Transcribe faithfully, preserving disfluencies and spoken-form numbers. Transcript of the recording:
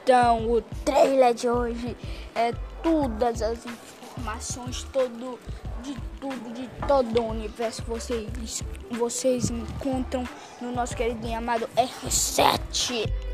Então, o trailer de hoje é todas as informações, todo, de tudo, de todo o universo vocês, vocês encontram no nosso querido e amado R sete.